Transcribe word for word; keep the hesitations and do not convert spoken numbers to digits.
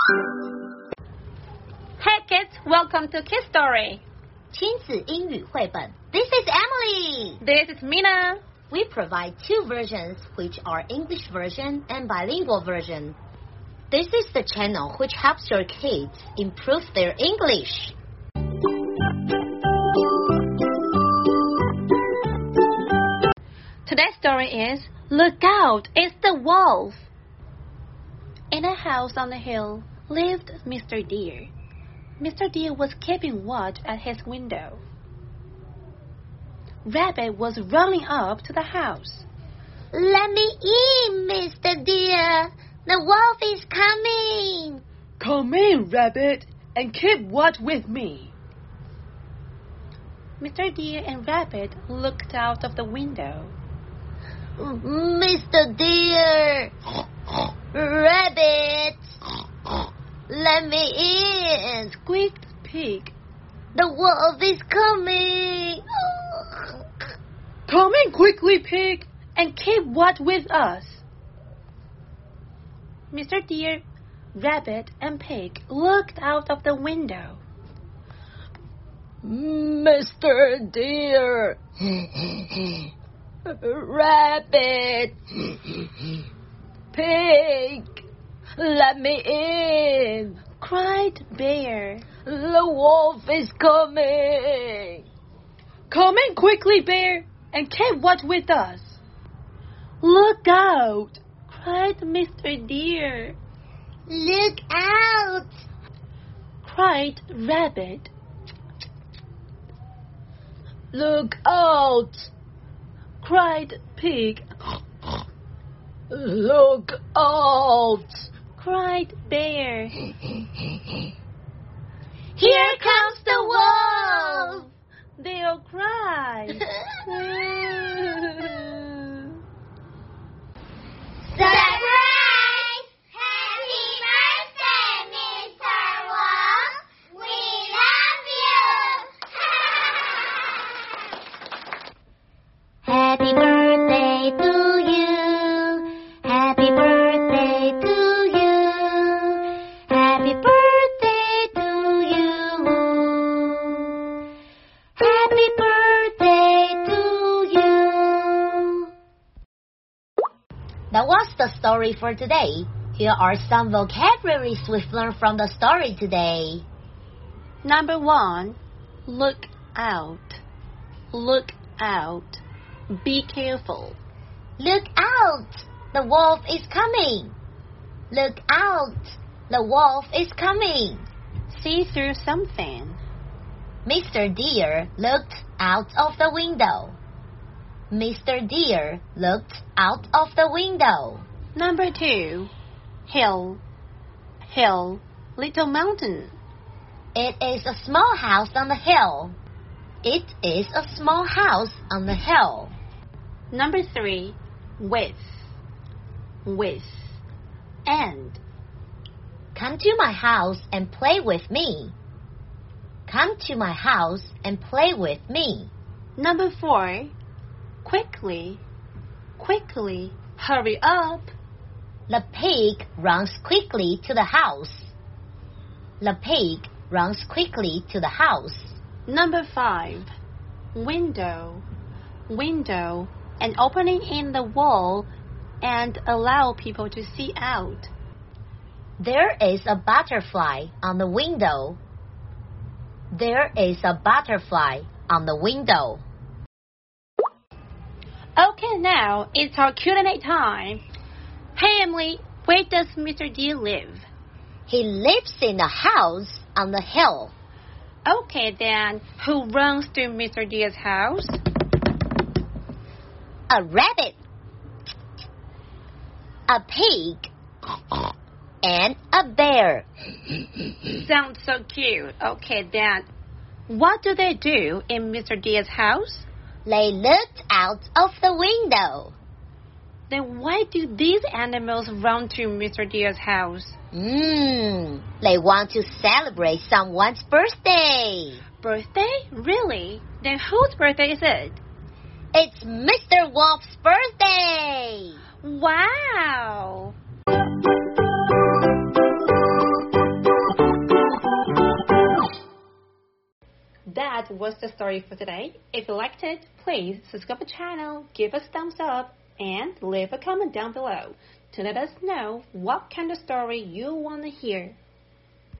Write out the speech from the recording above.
Hey kids, welcome to Kids Story. 亲子英语绘本 This is Emily. This is Mina. We provide two versions, which are English version and bilingual version. This is the channel which helps your kids improve their English. Today's story is Look Out, It's the Wolf. In a house on the hill lived Mister Deer. Mister Deer was keeping watch at his window. Rabbit was running up to the house. Let me in, Mister Deer. The wolf is coming. Come in, Rabbit, and keep watch with me. Mister Deer and Rabbit looked out of the window. Mister Deer, Rabbit, let me in. Squeaked Pig. The wolf is coming. Come in quickly, Pig, and keep watch with us. Mister Deer, Rabbit, and Pig looked out of the window. Mister Deer, Rabbit, Pig, let me in, cried Bear. The wolf is coming. Come in quickly, Bear, and keep watch with us. Look out, cried Mister Deer. Look out, cried Rabbit. Look out, cried Pig. Look out, cried Bear. Here comes the wolf! They all cried. Surprise! Happy birthday, Mister Wolf! We love you! Happy birthday to you. Happy birthday to you. Happy birthday to you. Happy birthday to you. That was the story for today. Here are some vocabularies we've learned from the story today. Number one, look out. Look out. Be careful. Look out! The wolf is coming. Look out! The wolf is coming. See through something. Mister Deer looked out of the window. Mister Deer looked out of the window. Number two, hill. Hill, little mountain. It is a small house on the hill. It is a small house on the hill. Number three, with. With. And. Come to my house and play with me. Come to my house and play with me. Number four, quickly. Quickly. Hurry up. The pig runs quickly to the house. The pig runs quickly to the house. Number five, window. Window, an opening in the wall and allow people to see out. There is a butterfly on the window. There is a butterfly on the window. Okay, now it's our Q and A time. Hey Emily, where does Mister Deer live? He lives in a house on the hill. Okay then, who runs to Mister Deer's house? A rabbit, a pig, and a bear. Sounds so cute. Okay then, what do they do in Mister Deer's house? They looked out of the window. Then why do these animals run to Mister Deer's house? Mmm, they want to celebrate someone's birthday. Birthday? Really? Then whose birthday is it? It's Mister Wolf's birthday! Wow! that was the story for today. If you liked it, please subscribe to the channel, give us a thumbs up, and leave a comment down below to let us know what kind of story you want to hear.